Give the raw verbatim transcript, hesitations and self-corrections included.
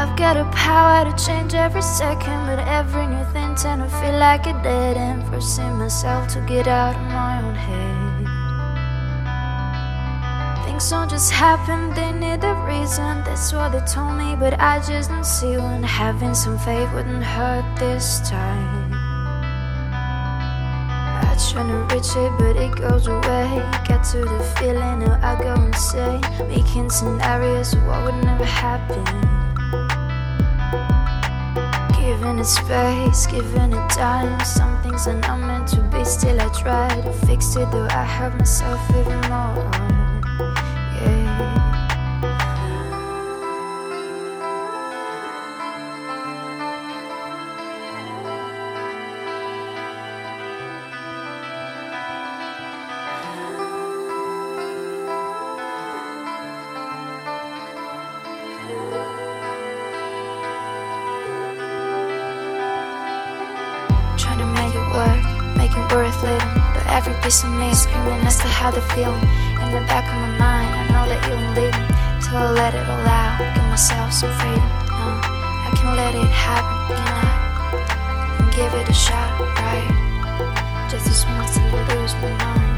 I've got the power to change every second, but every new thing tend to feel like a dead end. Forcing myself to get out of my own head. Things don't just happen, they need a reason. That's what they told me, but I just don't see when having some faith wouldn't hurt this time. I try to reach it, but it goes away. Get to the feeling, now I go insane, making scenarios of what would never happen. Giving it space, giving it time. Some things are not meant to be, still I try to fix it, though I hurt myself even more. Yeah. Trying to make it work, make it worth living, but every piece of me is screaming as to how they feel. In the back of my mind, I know that you won't leave me till I let it all out, give myself some freedom. No, I can let it happen, can I? And give it a shot, right? Just as much till I lose my mind.